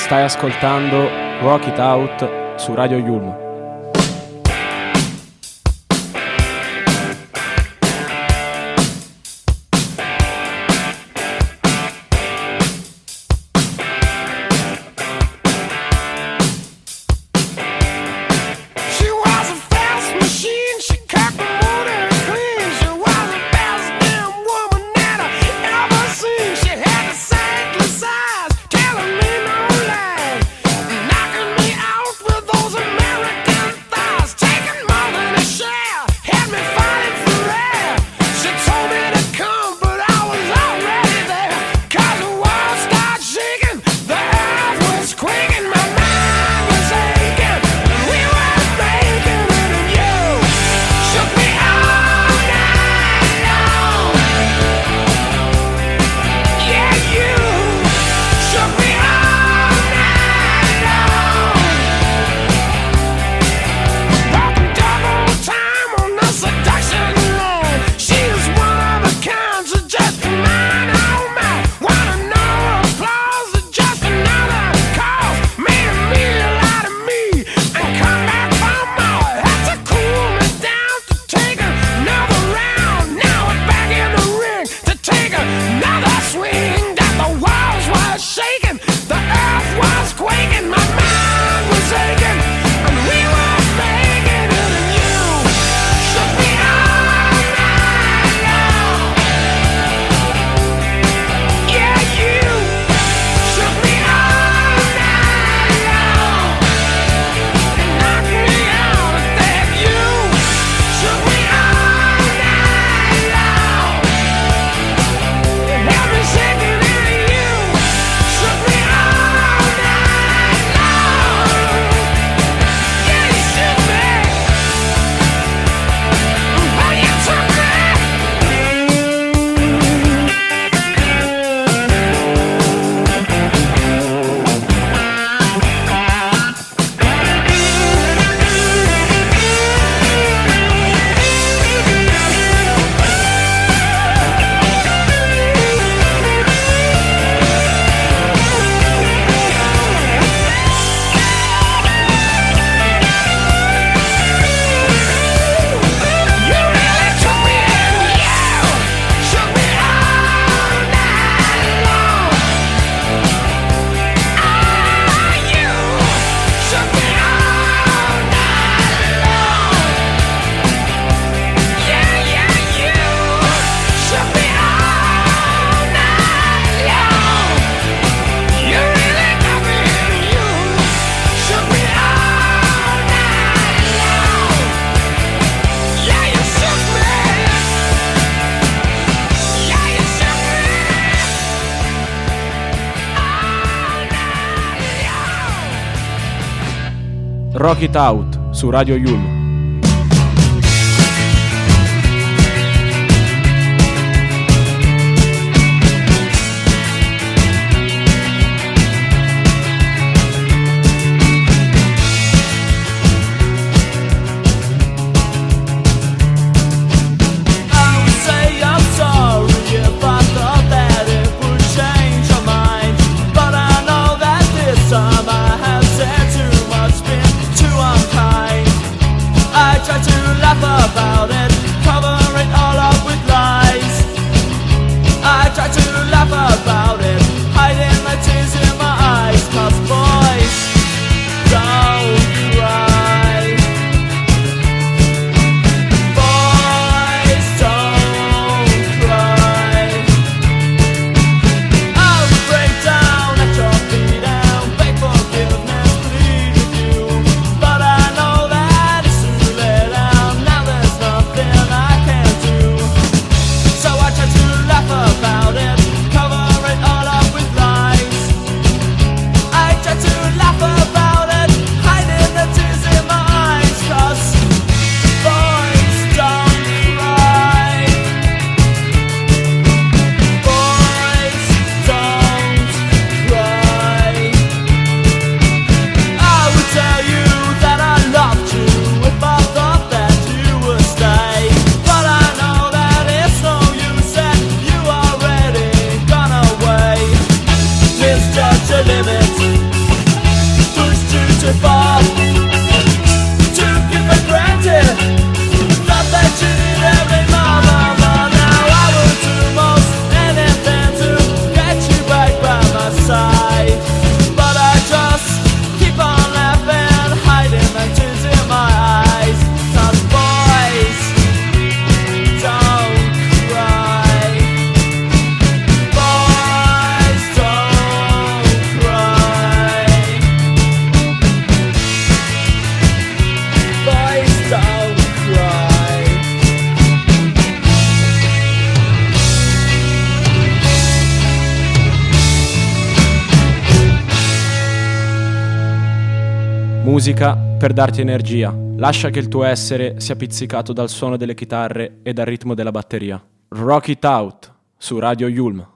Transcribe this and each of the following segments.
Stai ascoltando Rock It Out su Radio Yulm. Rock It Out su Radio Yulm. Time I have said too much, been too unkind. musica per darti energia. Lascia che il tuo essere sia pizzicato dal suono delle chitarre e dal ritmo della batteria. Rock It Out su Radio Yulm.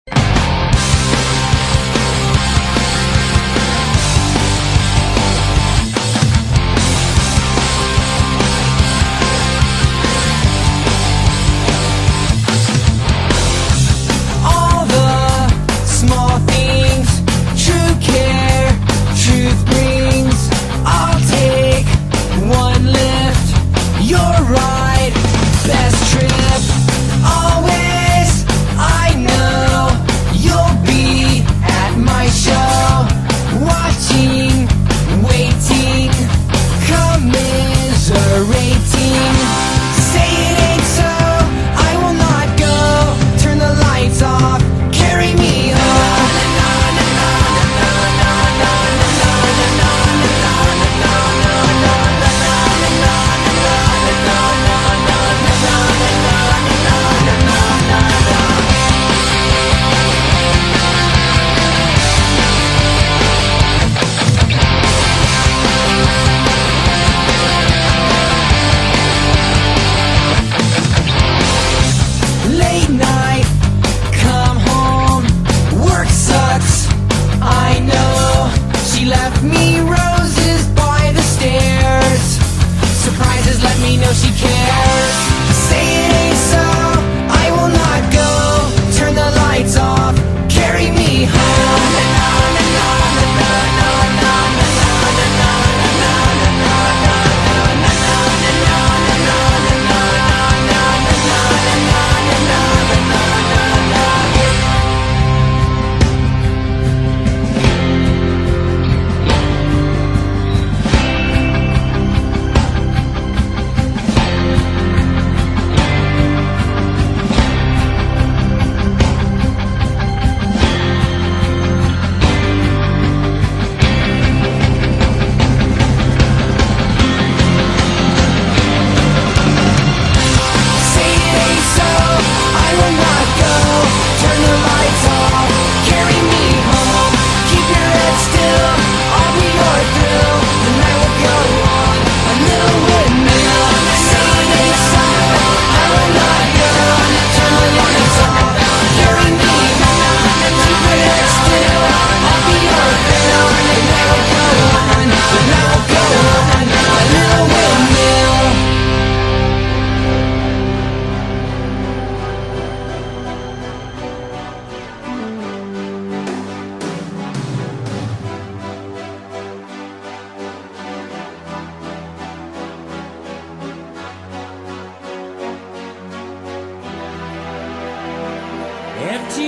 Empty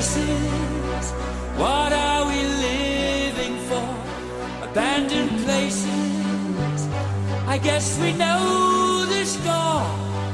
spaces, what are we living for? Abandoned places, I guess we know the score.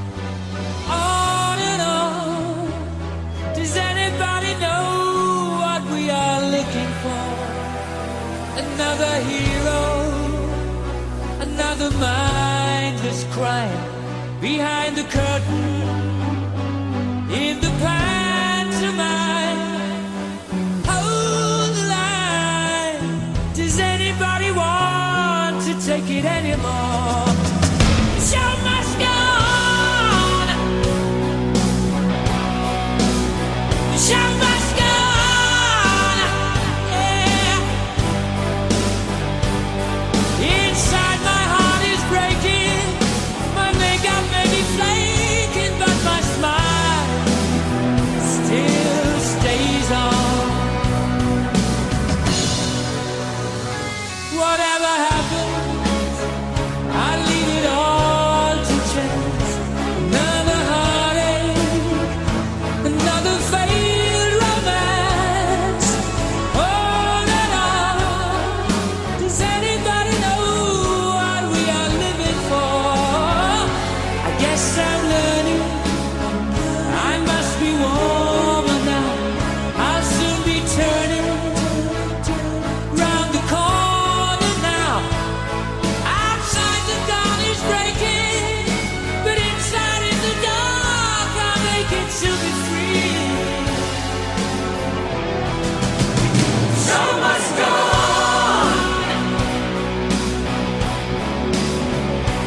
On and on, does anybody know what we are looking for? Another hero, another mindless crime, behind the curtain, in the pantomime. Hold the line, does anybody want to take it anymore? The show must go on, the show must go on, yeah. Inside my heart is breaking, my makeup may be flaking, but my smile still stays on. Whatever happens, I leave it all to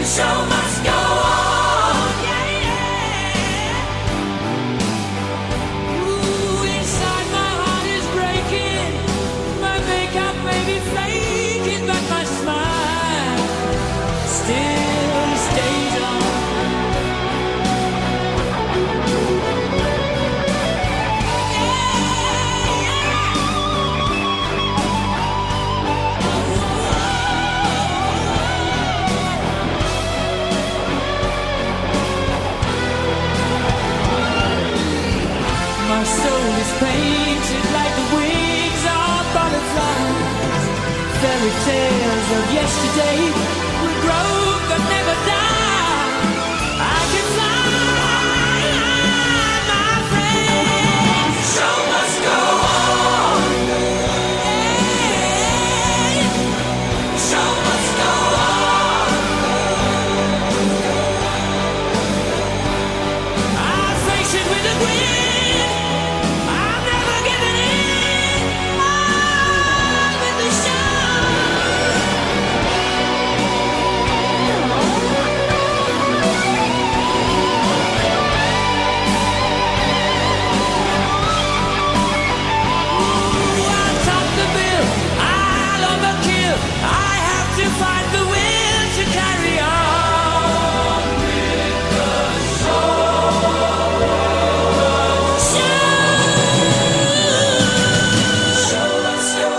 show must go on. Yeah, yeah. Ooh, inside my heart is breaking. My makeup may be flaking, but my smile still stays on. My soul is painted like the wings of butterflies. Fairy tales of yesterday will grow but never die. I can fly, my friend. Show must go on. Hey, show must go on. I'll face it with a grin. Find the will to carry on with the show must go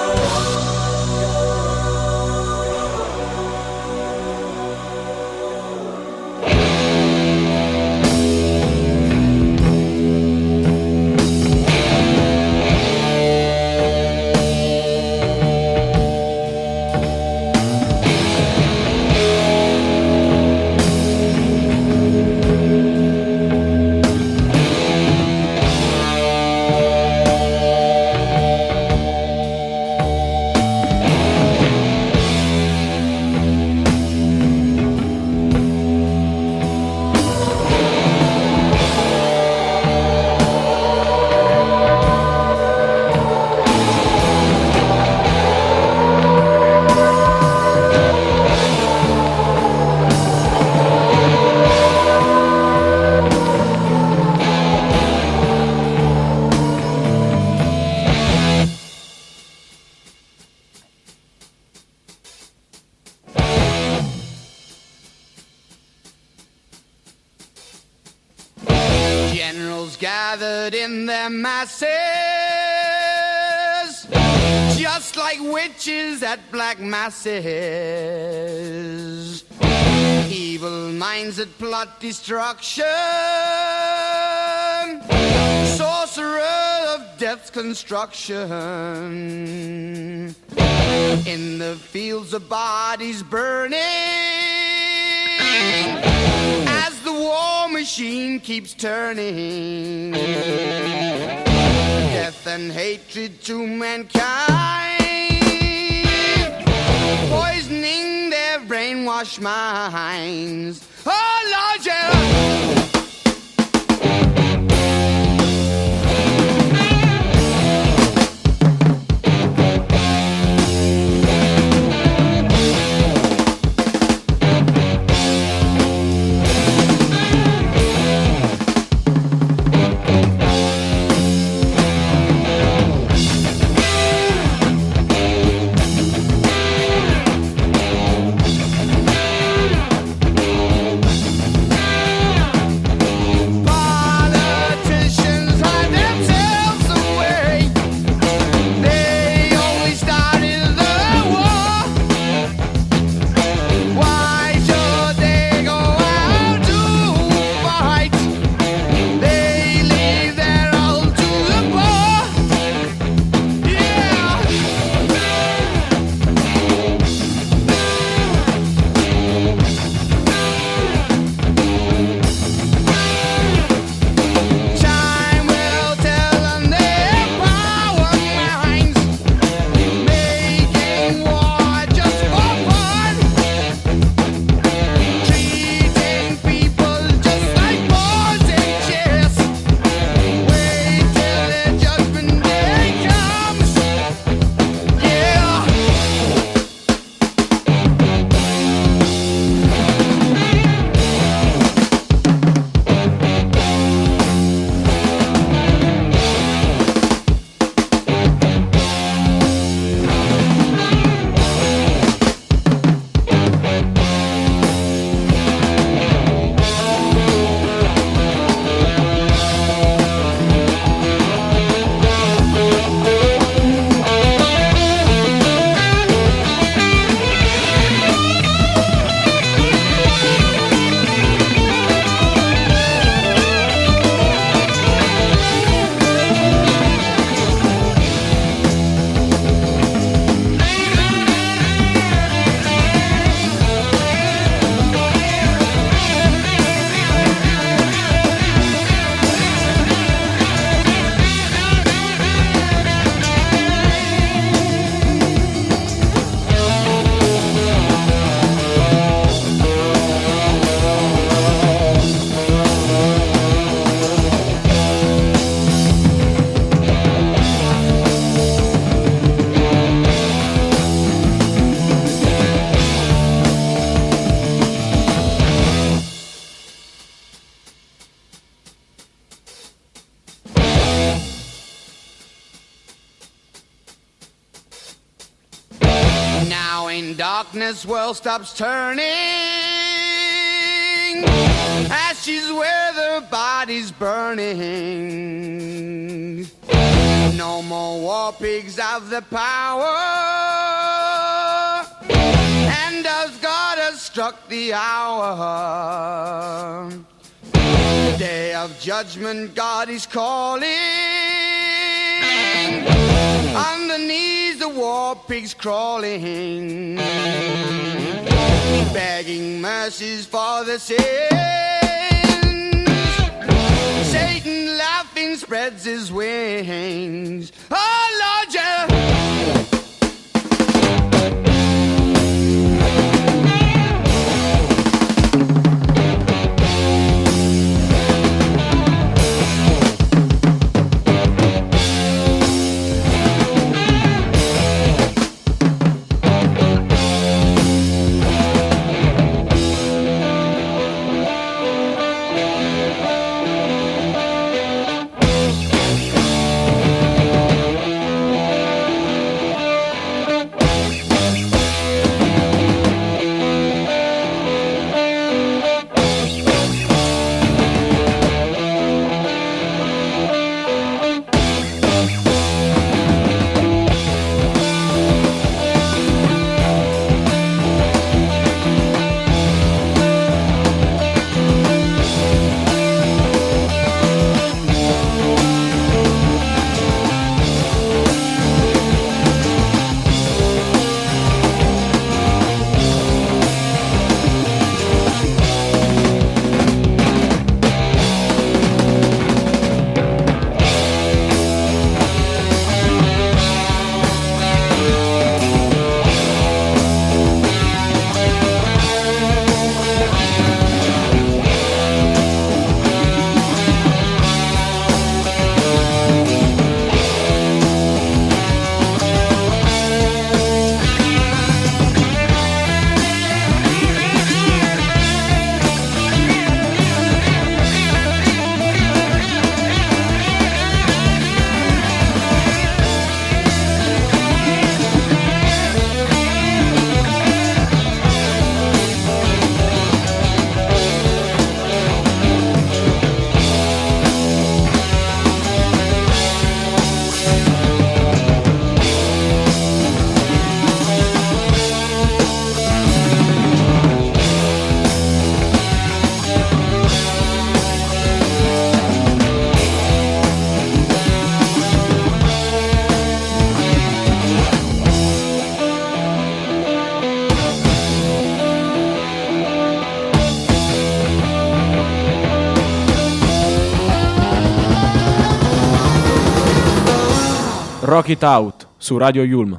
gathered in their masses, just like witches at black masses. Evil minds that plot destruction, sorcerer of death's construction. In the fields of bodies burning, as the war machine keeps turning, death and hatred to mankind, poisoning their brainwashed minds. Oh Lord, yeah. darkness world stops turning, ashes where the body's burning. No more war pigs have the power, and as God has struck the hour, day of judgment God is calling. On the knees the war pigs crawling, begging mercies for the sins. Satan laughing spreads his wings. Oh Lord, yeah. Rock It Out su Radio Yulm.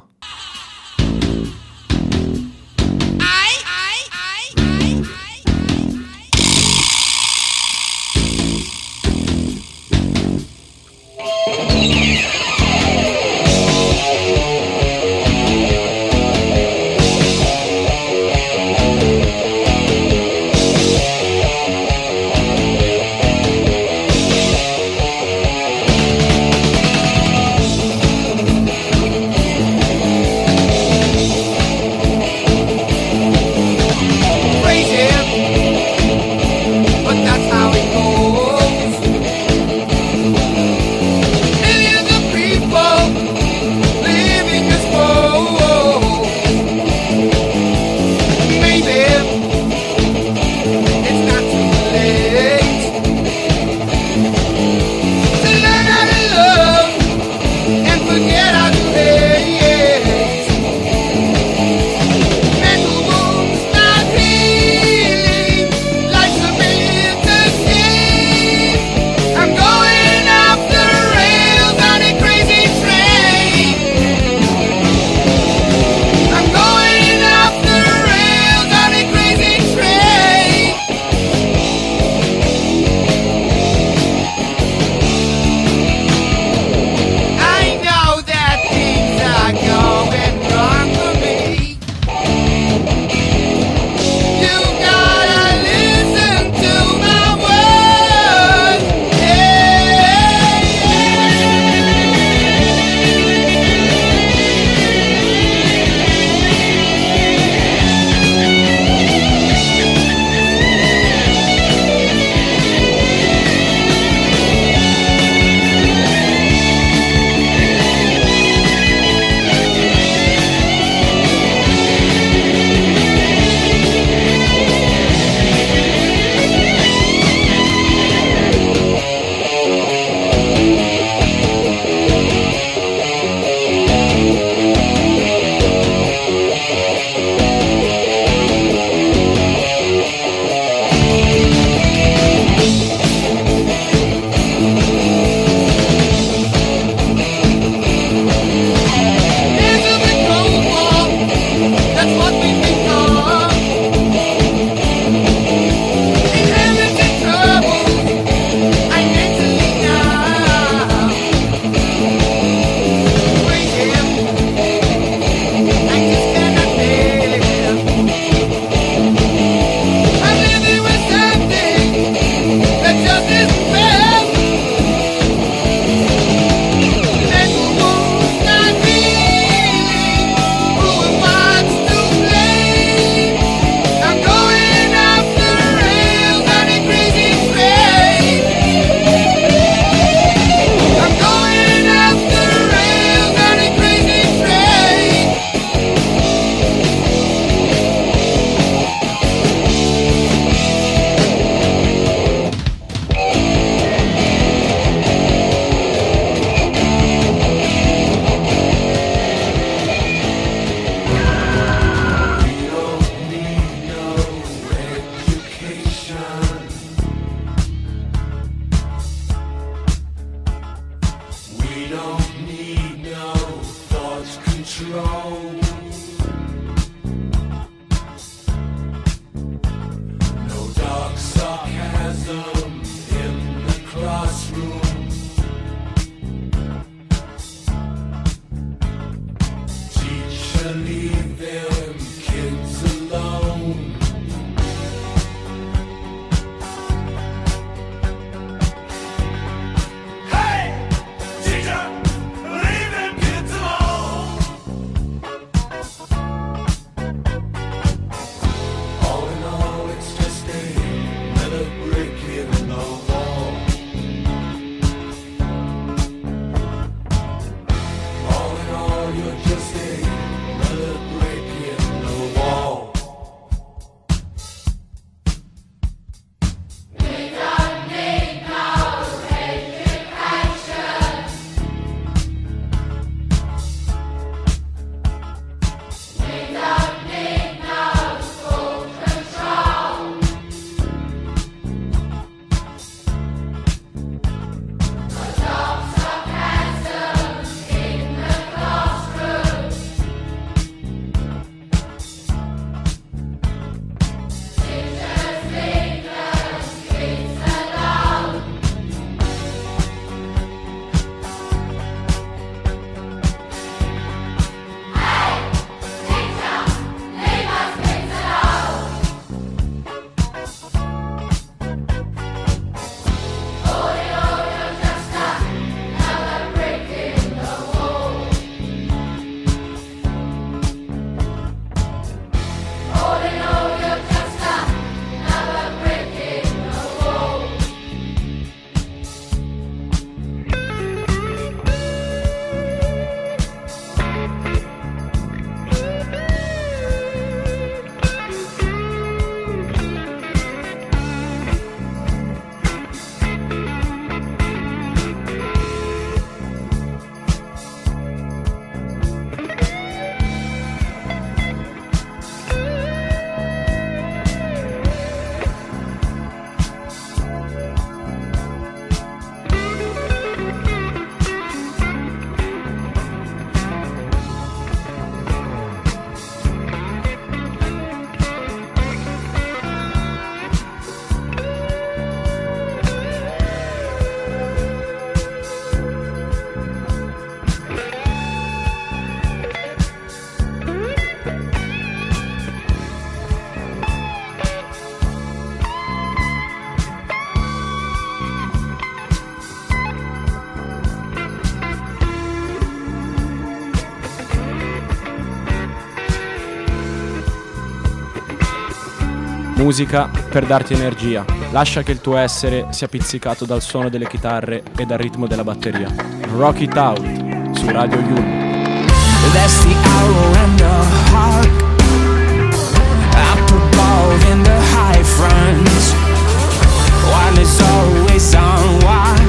Musica per darti energia. Lascia che il tuo essere sia pizzicato dal suono delle chitarre e dal ritmo della batteria. Rock It Out su Radio Yulm. That's the arrow and the hawk. Up above in the high front. One is always on watch.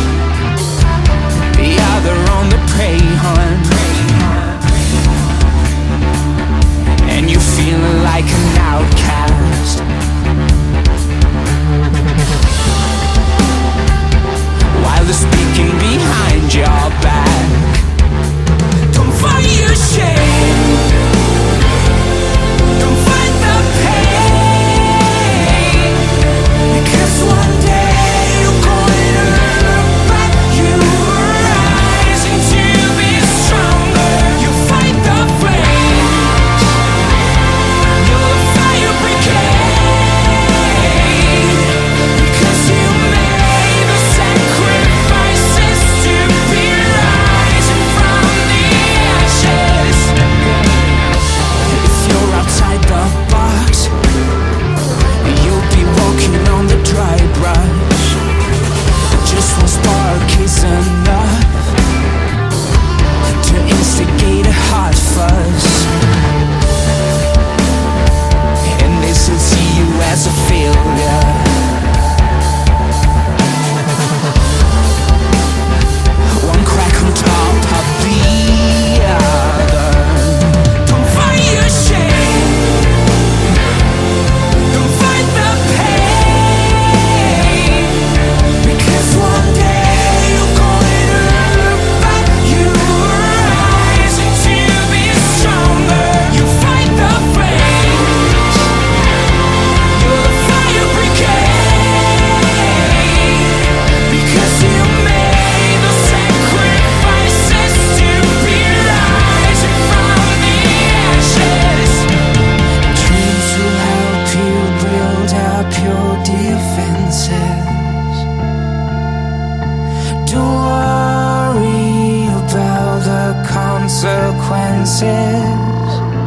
The other on the prey hunt. And you feel like an outcast. While they're speaking behind your back. Don't fight your shame. Don't fight the pain. Because one day you're going to look back. You rising to be stronger. You fight the flames. You're the fire brigade. Because you made the sacrifices to be rising from the ashes. If you're outside the box, you'll be walking on the dry brush. Just one spark is enough to instigate a hot fuzz. And they still see you as a failure. One crack on top of the other. Don't fight your shame. Don't fight the pain. Because one day you're going to look back. You rising to be stronger. You fight the flames. You're the fire brigade. Because you made the sacrifices to be rising from the ashes. Dreams will help you build up your defenses. Don't worry about the consequences.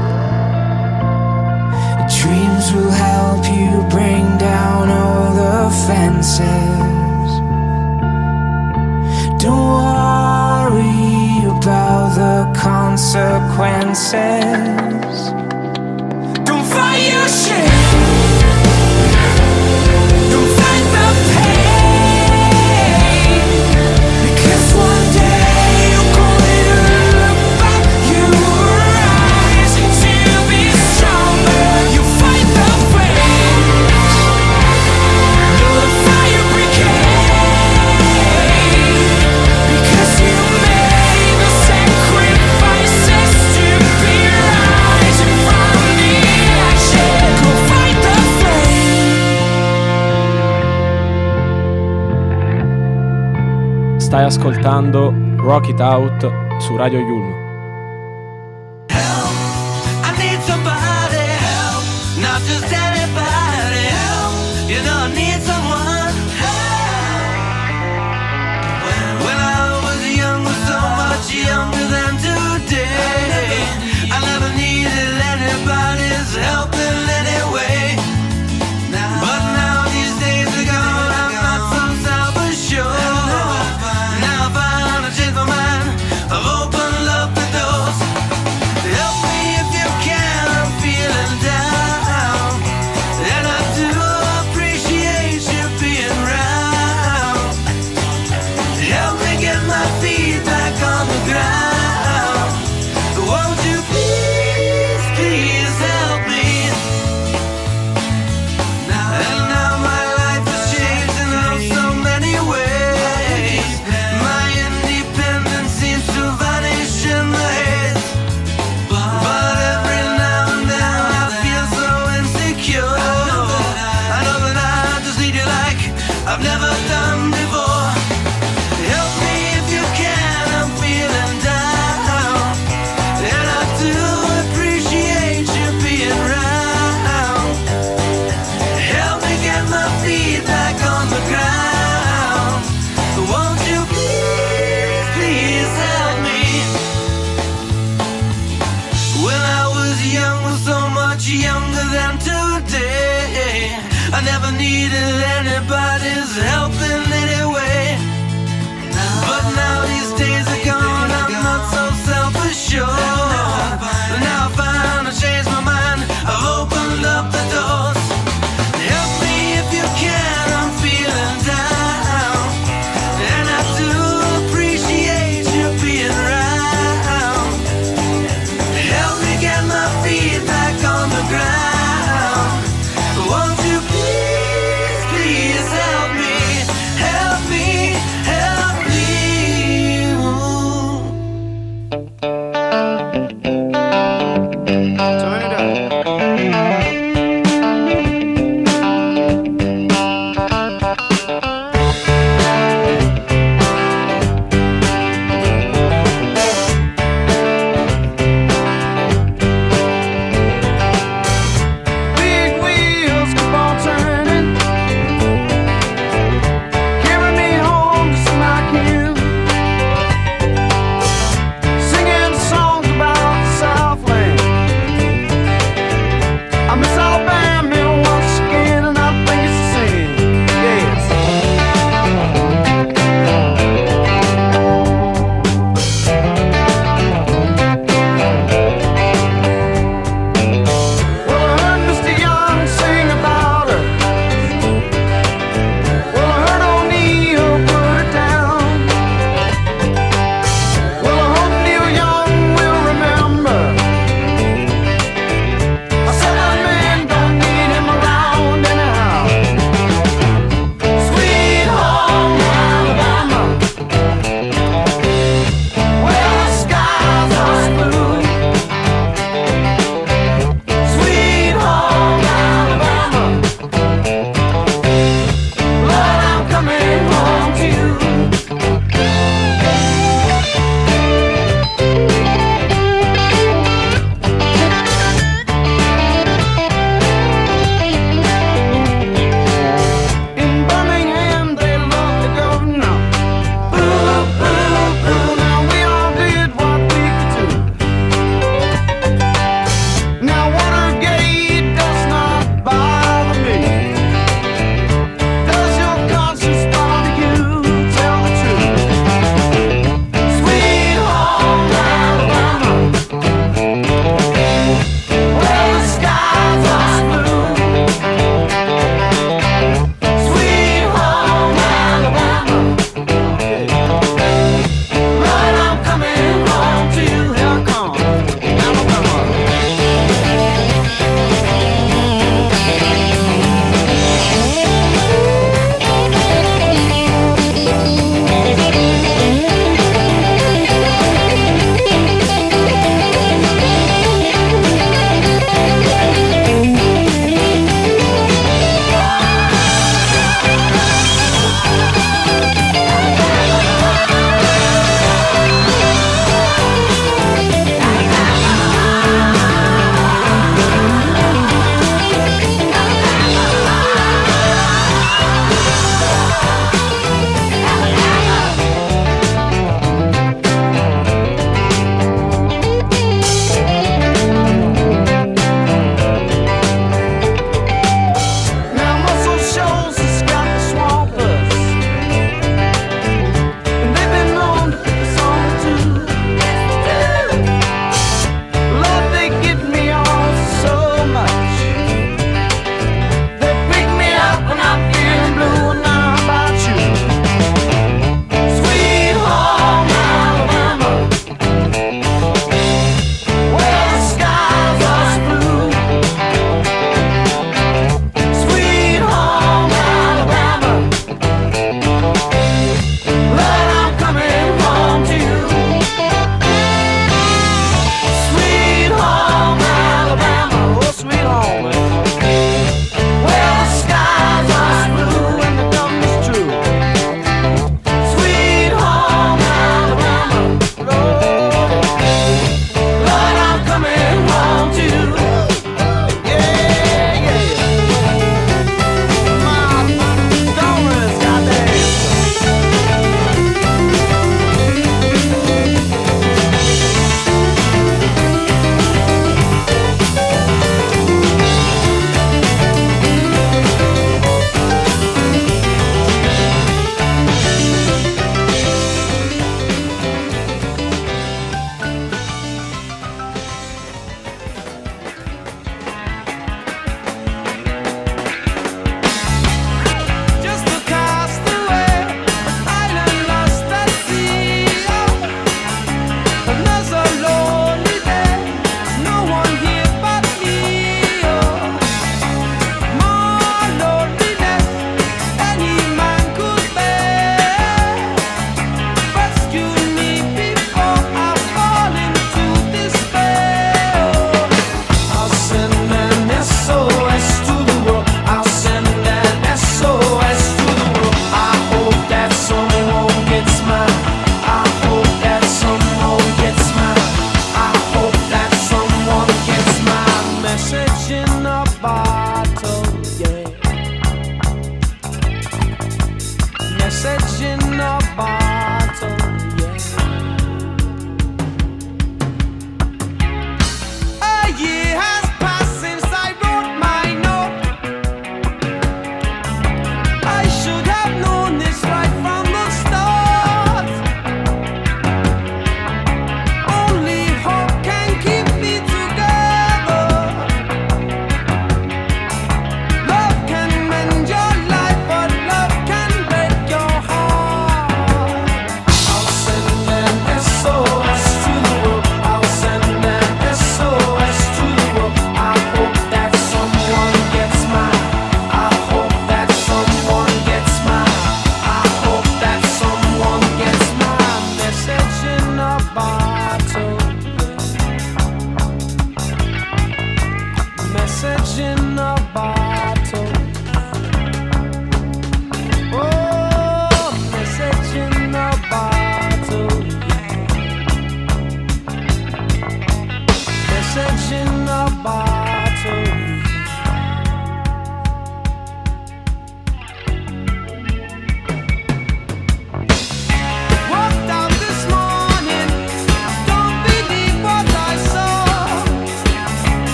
Dreams will help you bring down all the fences. Don't worry about the consequences. Don't fight your shit. Don't fight the pain. Because one day you're going to look back. You rising to be stronger. You fight the flames. You're the fire brigade. Because you made the sacrifices to be rising from the ashes. Go fight the flame. Stai ascoltando Rock It Out su Radio Yulm. Help, I need somebody help, not just anybody help, you know I need someone help. When I was young, was so much younger than today, I never needed anybody's help in any way. But now these days are gone, I'm not so self-assured. Now I found I changed my mind, I've opened up the I never needed anybody's help in any way. But now these days are gone, I'm not so self-assured. Now I found I changed my mind, I've opened up the doors. Help me if you can, I'm feeling down. And I do appreciate you being around. Help me get my feet back on the ground. Won't you please, please help me?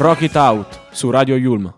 Rock It Out su Radio Yulm.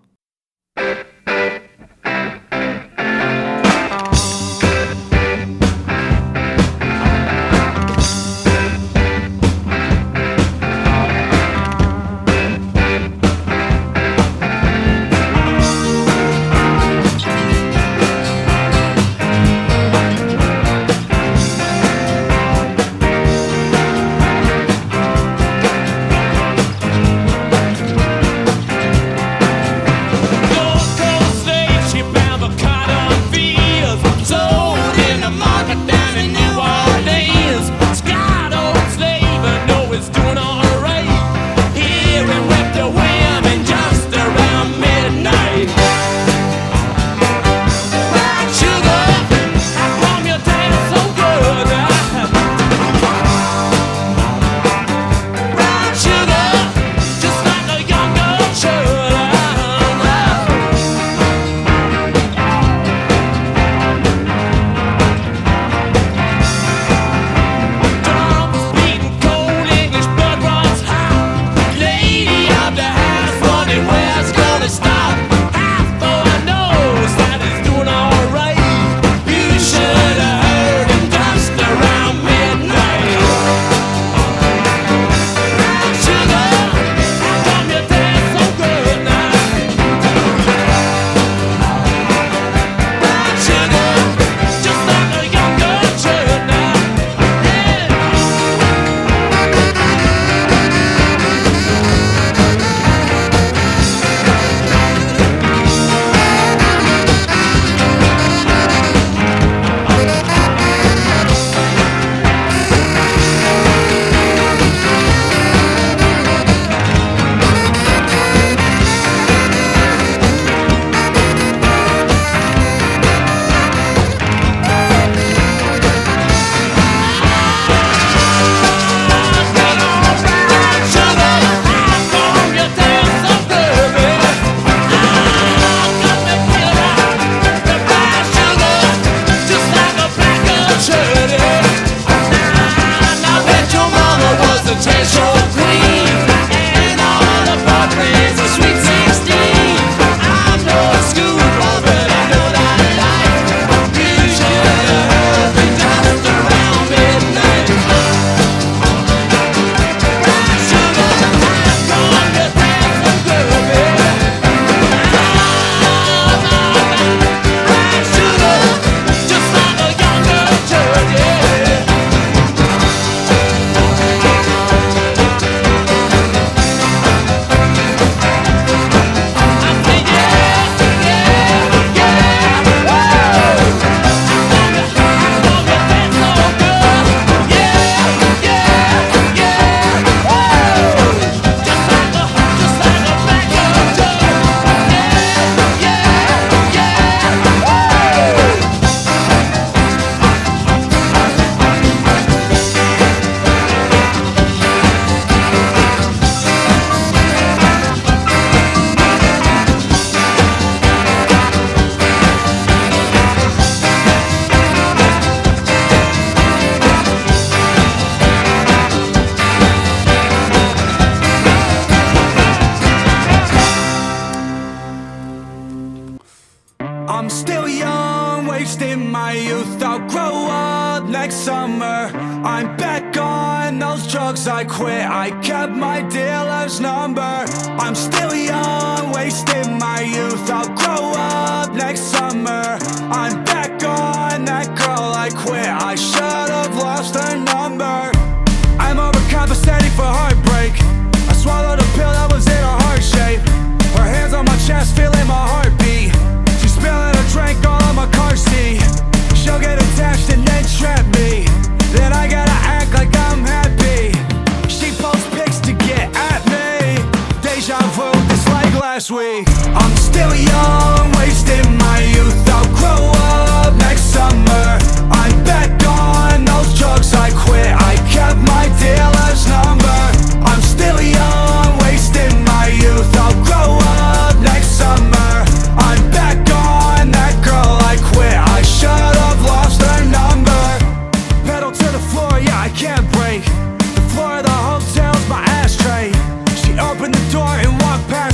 I'm still young, wasting my youth. I'll grow up next summer. I'm back on those drugs I quit. I kept my dealer's number. I'm still young, wasting my youth. I'll grow up next summer. I'm back on that girl I quit. I should have lost her number. I'm overcompensating for heartbreak. I swallowed a pill that was in a heart shape. Her hands on my chest, feeling my heartbeat. She's spilling a drink all on my car seat. She'll get attached and then trap me. Then I gotta act like I'm happy. She posts pics to get at me. Deja vu, just like last week. I'm still young, wasting my youth. I'll grow up next summer. I'm back on those drugs I quit. I kept my dealer's number. I'm still young, wasting my youth. I'll grow up next summer. I'm back on that girl I quit. I should have lost her number. Pedal to the floor, yeah, I can't break. The floor of the hotel's my ashtray. She opened the door and walked past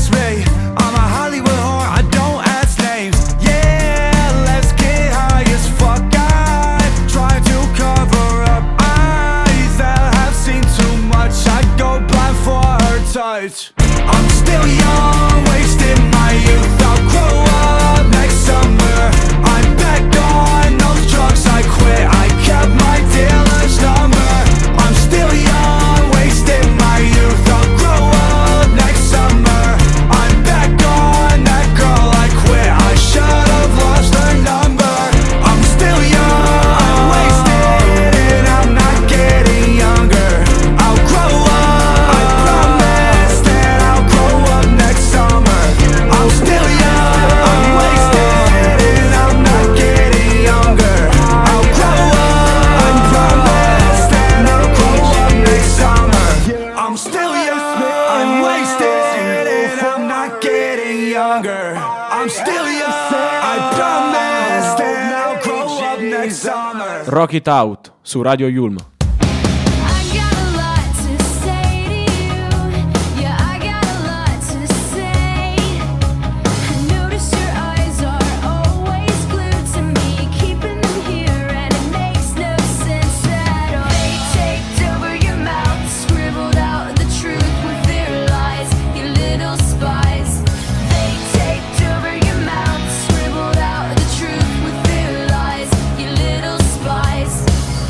I'm still young. I promise that I'll grow up next summer. Rock It Out su Radio Yulm. I got a lot to say to you. Yeah, I got a lot to say. I notice your eyes are always glued to me, keeping them here, and it makes no sense at all. They taped over your mouth, scribbled out the truth with their lies, you little spies. They taped over your mouth, scribbled out the truth with their lies, you little spies.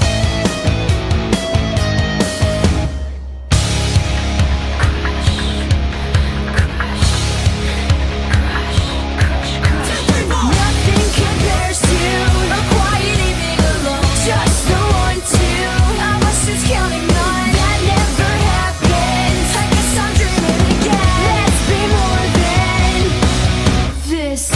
Nothing compares to a quiet evening alone. Just the one, two. I was just counting on that never happened. I guess I'm dreaming again. Let's be more than this.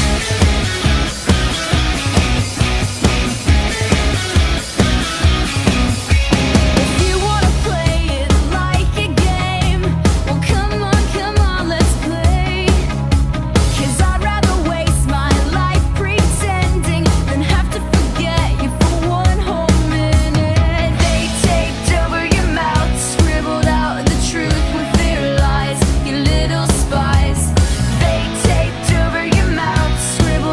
If you wanna play it like a game, well come on, let's play. 'Cause I'd rather waste my life pretending than have to forget you for one whole minute. They taped over your mouth, scribbled out the truth with their lies, you little spies. They taped over your mouth, scribbled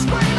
scream.